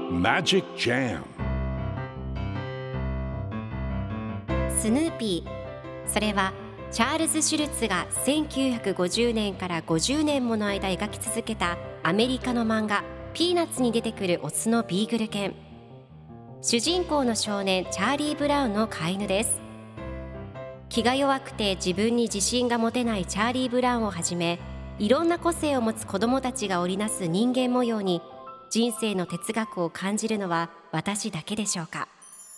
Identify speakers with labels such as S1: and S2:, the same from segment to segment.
S1: Magic Jam
S2: スヌーピー、それはチャールズ・シュルツが1950年から50年もの間描き続けたアメリカの漫画ピーナッツに出てくるオスのビーグル犬。主人公の少年チャーリー・ブラウンの飼い犬です。気が弱くて自分に自信が持てないチャーリー・ブラウンをはじめ、いろんな個性を持つ子どもたちが織りなす人間模様に人生の哲学を感じるのは私だけでしょうか。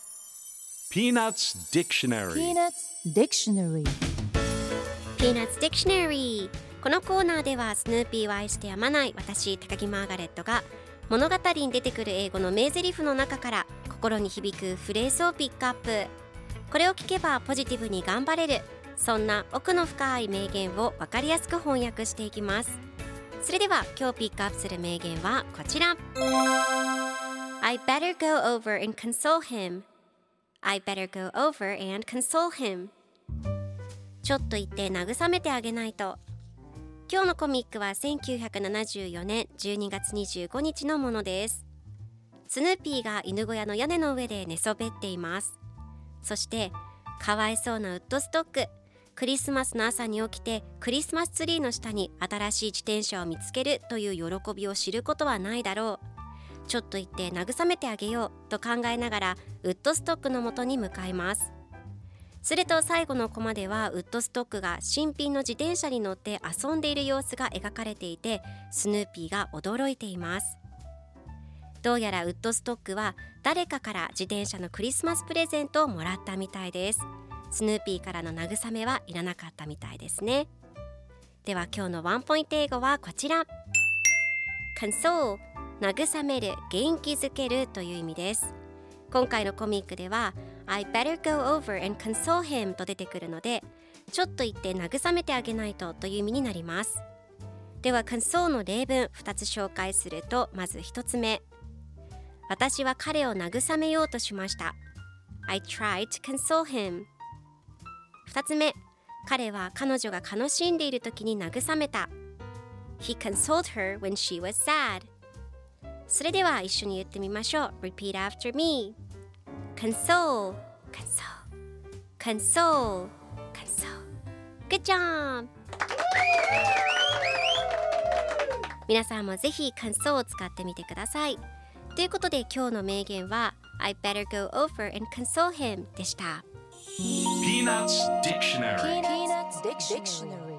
S1: Peanuts Dictionary
S3: Peanuts Dictionary
S2: Peanuts Dictionary。 このコーナーではスヌーピーを愛してやまない私高木マーガレットが物語に出てくる英語の名台詞の中から心に響くフレーズをピックアップ。これを聞けばポジティブに頑張れる、そんな奥の深い名言を分かりやすく翻訳していきます。それでは今日ピックアップする名言はこちら。 I better go over and console him. I better go over and console him. ちょっと言って慰めてあげないと。今日のコミックは1974年12月25日のものです。スヌーピーが犬小屋の屋根の上で寝そべっています。そしてかわいそうなウッドストック、クリスマスの朝に起きてクリスマスツリーの下に新しい自転車を見つけるという喜びを知ることはないだろう。ちょっと言って慰めてあげようと考えながらウッドストックの元に向かいます。すると最後のコマではウッドストックが新品の自転車に乗って遊んでいる様子が描かれていて、スヌーピーが驚いています。どうやらウッドストックは誰かから自転車のクリスマスプレゼントをもらったみたいです。スヌーピーからの慰めはいらなかったみたいですね。では今日のワンポイント英語はこちら。 console、 慰める、元気づけるという意味です。今回のコミックでは I better go over and console him と出てくるので、ちょっと言って慰めてあげないとという意味になります。では console の例文2つ紹介すると、まず1つ目、私は彼を慰めようとしました。 I tried to console him。 2つ目、彼は彼女が悲しんでいる時に慰めた。 He consoled her when she was sad。 それでは一緒に言ってみましょう。 Repeat after me。 Console Console Console Console。 Good job。 皆さんもぜひ console を使ってみてください。ということで今日の名言は I better go over and console him でした。
S1: Peanuts Dictionary
S3: Peanuts Dictionary